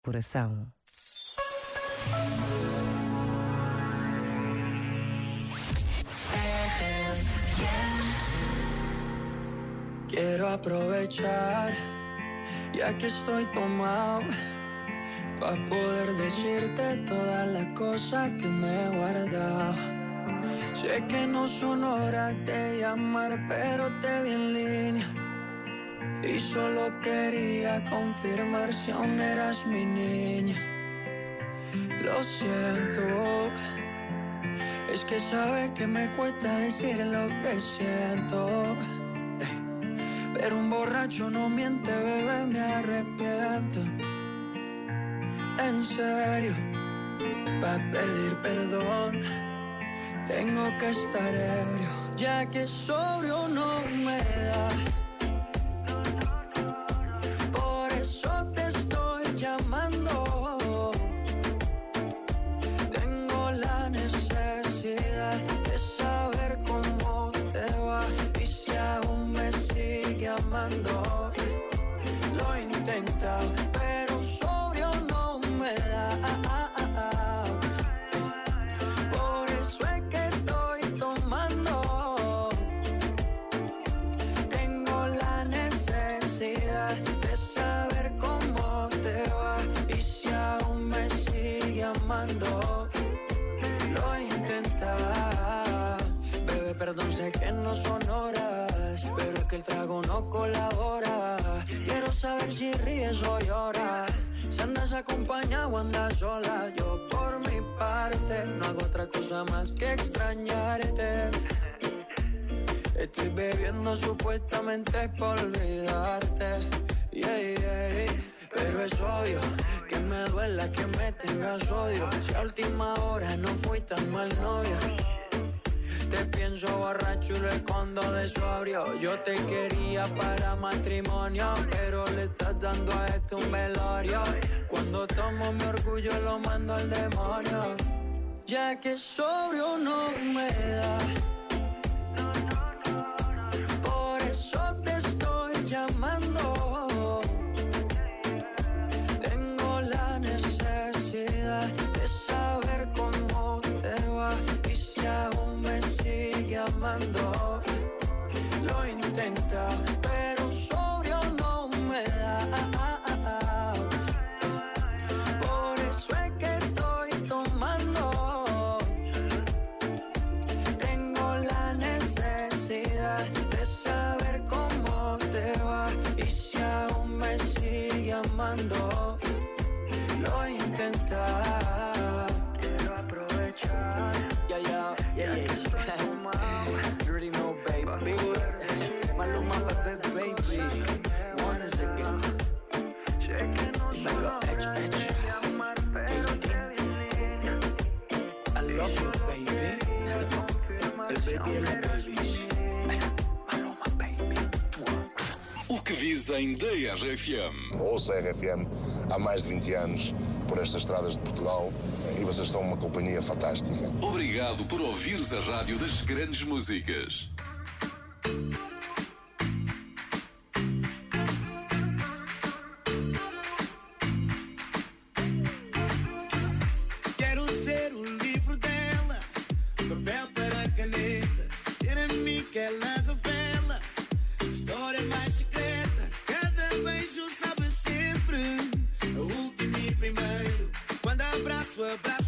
coração. Quiero aprovechar, ya que estoy tomado, para poder decirte todas las cosas que me he guardado. Sé que no son horas de llamar, pero te vi en línea y solo quería confirmar si aún eras mi niña. Lo siento, es que sabes que me cuesta decir lo que siento. Pero un borracho no miente, bebé, me arrepiento. En serio, para pedir perdón tengo que estar ebrio, ya que sobrio no me da. Por eso te estoy llamando. Tengo la necesidad de saber cómo te va y si aún me sigue amando. Lo he intentado, pero sobrio no me da. Por eso es que estoy tomando. Tengo la necesidad de saber cómo te va y si aún me sigue amando. Lo he intentado, bebé, perdón, sé que no son horas, pero es que el trago no colabora. Quiero saber si ríes o lloras, si andas acompañado o andas sola. Yo por mi parte no hago otra cosa más que extrañarte. Estoy bebiendo supuestamente por olvidarte, pero es obvio que me duela que me tengas odio. Si a última hora no fui tan mal novia, te pienso borracho y lo escondo de sobrio. Yo te quería para matrimonio, pero le estás dando a esto un velorio. Cuando tomo mi orgullo lo mando al demonio, ya que sobrio no me da. Por eso te estoy llamando. Tengo la necesidad de saber cómo te va y si aún me sigue amando. Lo he intentado, pero sobrio no me da. Por eso es que estoy tomando. Tengo la necesidad de saber cómo te va y si aún me sigue amando. Lo he intentado. Quiero aprovechar. Yeah. You already know, baby. Maluma, baby. One is again. Dímelo, H. I love you, baby. El baby e la babies. Maluma, baby. O que dizem da RFM? Ouço a RFM há mais de 20 anos por estas estradas de Portugal e vocês são uma companhia fantástica. Obrigado por ouvires a rádio das grandes músicas. Quero ser o livro dela, papel para caneta, ser a mim que ela revela, história mais secreta, cada beijo sabe sempre, o último e primeiro, quando abraço